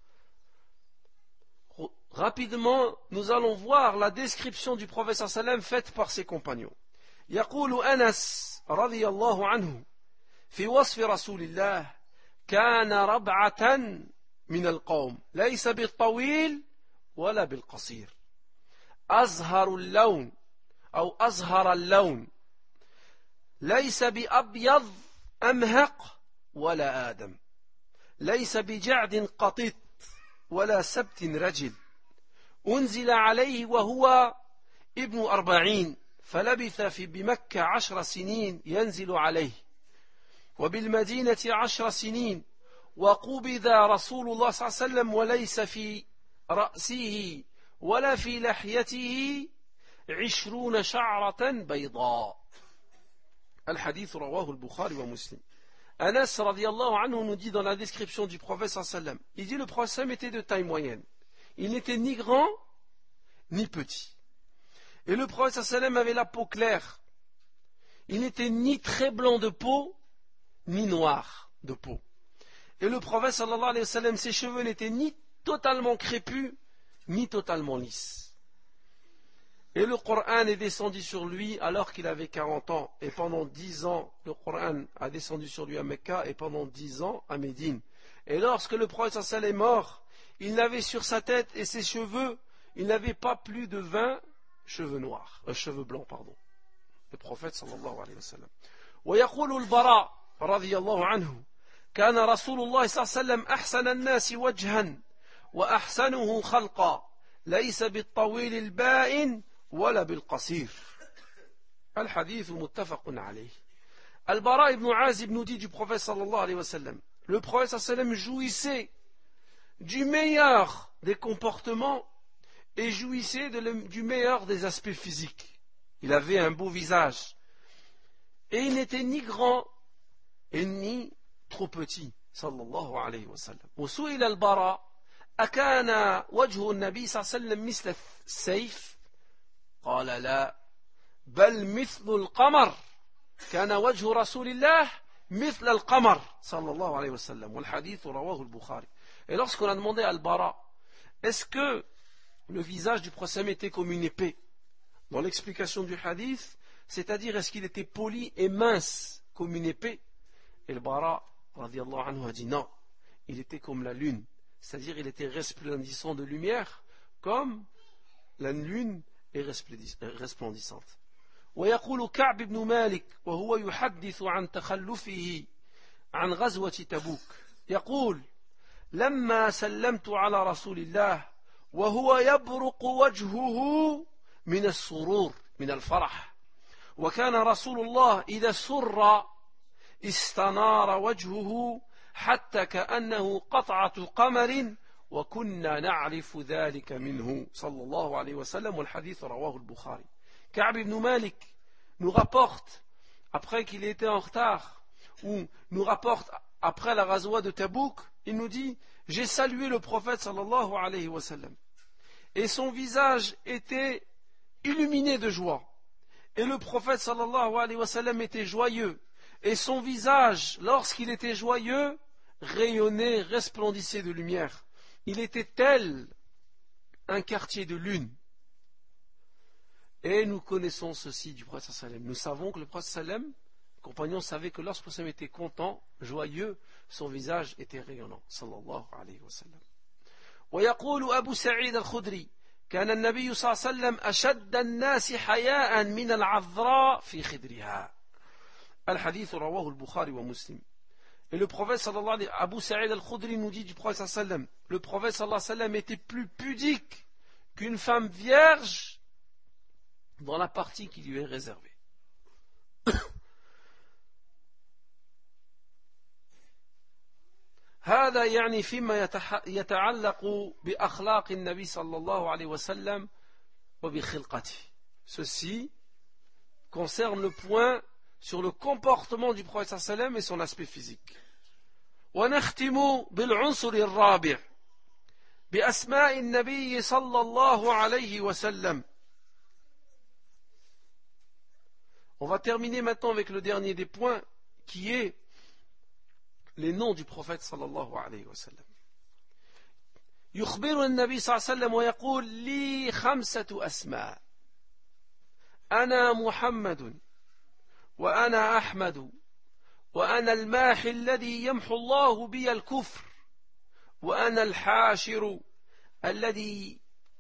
Rapidement, nous allons voir la description du prophète sallallahu alayhi wa sallam faite par ses compagnons. يقول أنس رضي الله عنه في وصف رسول الله كان ربعة من القوم ليس بالطويل ولا بالقصير أزهر اللون أو أزهر اللون ليس بأبيض أمهق ولا آدم ليس بجعد قطط ولا سبت رجل أنزل عليه وهو ابن 40 فلبث بمكة 10 سنين ينزل عليه وبالمدينة 10 سنين وقبض رسول الله صلى الله عليه وسلم وليس في رأسه ولا في لحيته 20 شعرة بيضاء. الحديث رواه البخاري ومسلم. Anas radiallahu anhu nous dit dans la description du prophète sallallahu alayhi wa sallam, il dit le prophète était de taille moyenne. Il n'était ni grand ni petit. Et le prophète sallallahu alayhi wa sallam avait la peau claire. Il n'était ni très blanc de peau ni noir de peau. Et le prophète sallallahu alayhi wa sallam, ses cheveux n'étaient ni totalement crépus ni totalement lisses. Et le Coran est descendu sur lui alors qu'il avait 40 ans. Et pendant 10 ans, le Coran a descendu sur lui à Mecca et pendant 10 ans à Médine. Et lorsque le prophète sallallahu alayhi wa sallam est mort, il n'avait sur sa tête et ses cheveux, il n'avait pas plus de 20 cheveux noirs, cheveux blancs, pardon. Le prophète sallallahu alayhi wa sallam. ويقول البراء رضي الله عنه كان رسول الله صلى الله عليه وسلم أحسن الناس وجها وأحسنه خلقا ليس بالطويل البائن ولا بالقصير. الحديث متفق عليه. Al-Bara ibn Azib nous dit du prophète sallallahu alayhi wa sallam, le prophète sallallahu alayhi wa sallam jouissait du meilleur des comportements et jouissait du meilleur des aspects physiques. Il avait un beau visage et il n'était ni grand et ni trop petit sallallahu alayhi wa sallam. وسئل البراء أكان وجه النبي صلى الله عليه وسلم مثل السيف قال لا بل مثل القمر كان وجه رسول الله مثل القمر صلى الله عليه وسلم والحديث رواه البخاري. Et lorsqu'on a demandé à Al-Bara est-ce que le visage du prophète était comme une épée, dans l'explication du hadith, c'est-à-dire est-ce qu'il était poli et mince comme une épée, et Al-Bara radiyallahu anhu a dit non, il était comme la lune, c'est-à-dire il était resplendissant de lumière comme la lune est resplendissante. ويقول كعب بن مالك وهو يحدث عن تخلفه عن غزوة تبوك يقول لما سلمت على رسول الله وهو يبرق وجهه من السرور من الفرح وكان رسول الله إذا سر استنار وجهه حتى كأنه قطعة قمر وكنا نعرف ذلك منه صلى الله عليه وسلم والحديث رواه البخاري. Ka'b ibn Malik nous rapporte, après qu'il était en retard, ou nous rapporte après la ghazwa de Tabouk, il nous dit, j'ai salué le prophète sallallahu alayhi wa sallam, et son visage était illuminé de joie, et le prophète sallallahu alayhi wa sallam était joyeux, et son visage, lorsqu'il était joyeux, rayonnait, resplendissait de lumière. Il était tel un quartier de lune. Et nous connaissons ceci du prophète sallam. Nous savons que le prophète sallam, le compagnon savait que lorsque le prophète était content, joyeux, son visage était rayonnant. Sallallahu alayhi wa sallam. ويقول أبو سعيد الخدري كان النبي صلى الله عليه وسلم أشد الناس حياء من العذراء في خدرها. الحديث رواه البخاري ومسلم. Et le prophète sallallahu alayhi wa sallam, Abu Sa'id al-Khudri nous dit du prophète sallallahu alayhi wa sallam, le prophète sallallahu alayhi wa sallam était plus pudique qu'une femme vierge dans la partie qui lui est réservée. هذا يعني فيما يتعلق بأخلاق النبي صلى الله عليه وسلم وبخلقته. Ceci concerne le point sur le comportement du prophète صلى الله عليه وسلم et son aspect physique. ونختم بالعنصر الرابع بأسماء النبي صلى الله عليه وسلم. On va terminer maintenant avec le dernier des points qui est les noms du prophète sallallahu alayhi wa sallam. يخبر النبي صلى الله عليه وسلم ويقول لي 5 أسماء أنا محمد وأنا أحمد وأنا الماحي الذي يمحو الله بي الكفر وأنا الحاشر الذي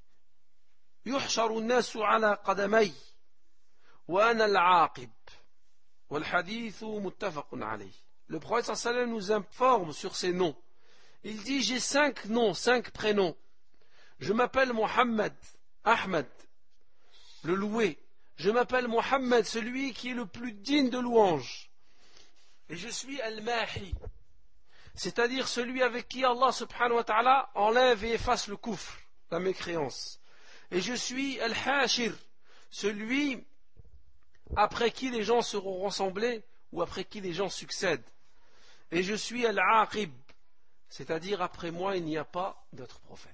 يحشر الناس على قدمي وأنا العاقب والحديث متفق عليه. Le prophète sallallahu alayhi wa sallam nous informe sur ces noms. Il dit, j'ai 5 noms, 5 prénoms. Je m'appelle Mohammed, Ahmed, le loué. Je m'appelle Mohammed, celui qui est le plus digne de louange. Et je suis Al-Mahi, c'est-à-dire celui avec qui Allah subhanahu wa ta'ala enlève et efface le kufr, la mécréance. Et je suis Al-Hashir, celui après qui les gens seront rassemblés ou après qui les gens succèdent. Et je suis Al-Aqib, c'est-à-dire après moi il n'y a pas d'autre prophète.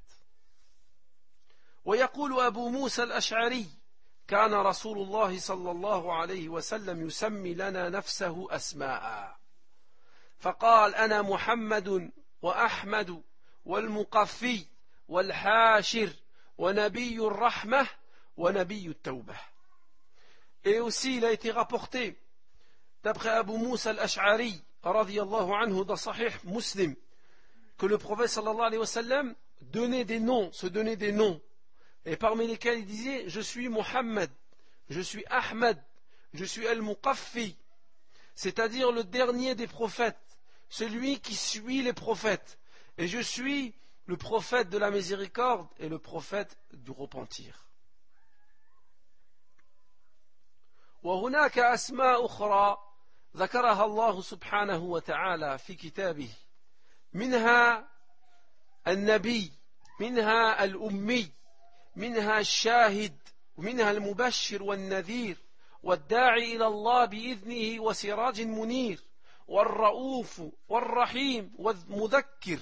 ويقول أبو موسى الأشعري كان رسول الله صلى الله عليه وسلم يسمي لنا نفسه أسماء فقال أنا محمد وأحمد والمقفي والحاشر ونبي الرحمة ونبي التوبة. Et aussi il a été rapporté d'après Abu Musa al-Ash'ari radiyallahu anhu dans Sahih Muslim que le prophète sallallahu alayhi wa sallam donnait des noms, se donnait des noms, et parmi lesquels il disait je suis Mohammed, je suis Ahmed, je suis Al-Muqaffi, c'est-à-dire le dernier des prophètes, celui qui suit les prophètes, et je suis le prophète de la miséricorde et le prophète du repentir. وهناك أسماء أخرى ذكرها الله سبحانه وتعالى في كتابه منها النبي منها الأمي منها الشاهد ومنها المبشر والنذير والداعي إلى الله بإذنه وسراج منير والرؤوف والرحيم والمذكر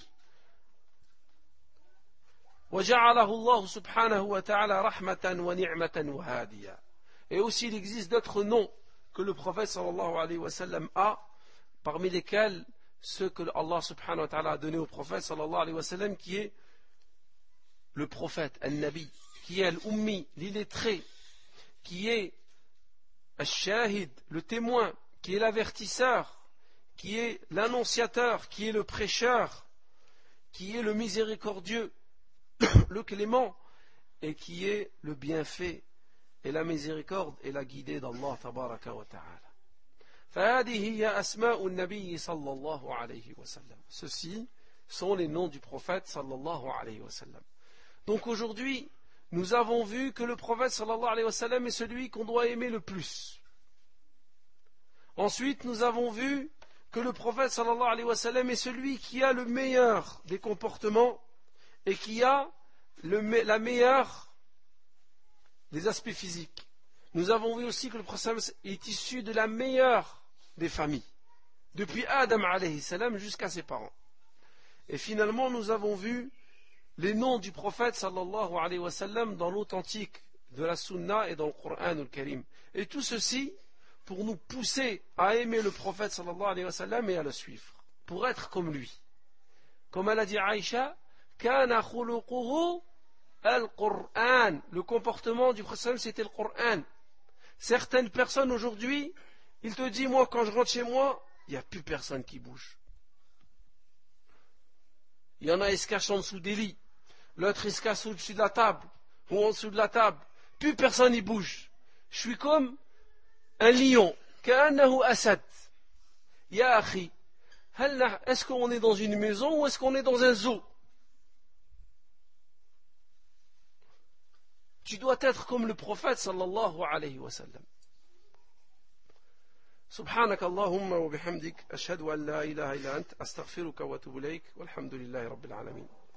وجعله الله سبحانه وتعالى رحمة ونعمة وهادية. Et aussi il existe d'autres noms que le prophète sallallahu alayhi wa sallam a, parmi lesquels ceux que Allah subhanahu wa ta'ala a donné au prophète sallallahu alayhi wa sallam, qui est le prophète, al-Nabi, qui est al-Ummi, l'illettré, qui est al-Shahid, le témoin, qui est l'avertisseur, qui est l'annonciateur, qui est le prêcheur, qui est le miséricordieux, le clément, et qui est le bienfait et la miséricorde et la guidée d'Allah tabaraka wa ta'ala. فهذه هي أسماء النبي صلى الله عليه وسلم. Ceux-ci sont les noms du prophète sallallahu alayhi wa sallam. Donc aujourd'hui, nous avons vu que le prophète sallallahu alayhi wa sallam est celui qu'on doit aimer le plus. Ensuite, nous avons vu que le prophète sallallahu alayhi wa sallam est celui qui a le meilleur des comportements et qui a la meilleure des aspects physiques. Nous avons vu aussi que le prophète est issu de la meilleure des familles, depuis Adam alayhi salam jusqu'à ses parents. Et finalement, nous avons vu les noms du prophète sallallahu alayhi wa sallam dans l'authentique de la Sunna et dans le Coran al-Karim. Et tout ceci pour nous pousser à aimer le prophète sallallahu alayhi wa sallam et à le suivre, pour être comme lui. Comme elle a dit Aïcha, kana khuluquhu al-Qur'an. Le comportement du prophète c'était le Coran. Certaines personnes aujourd'hui, ils te disent, moi quand je rentre chez moi, il n'y a plus personne qui bouge. Il y en a, ils se cachent en dessous des lits. L'autre, il se cache au-dessus de la table, ou en dessous de la table. Plus personne n'y bouge. Je suis comme un lion. Ka'annahu asad. Ya akhi, est-ce qu'on est dans une maison ou est-ce qu'on est dans un zoo? Tu dois être comme le prophète sallallahu alayhi wa sallam. سبحانك اللهم وبحمدك أشهد أن لا إله إلا أنت أستغفرك وأتوب إليك والحمد لله رب العالمين.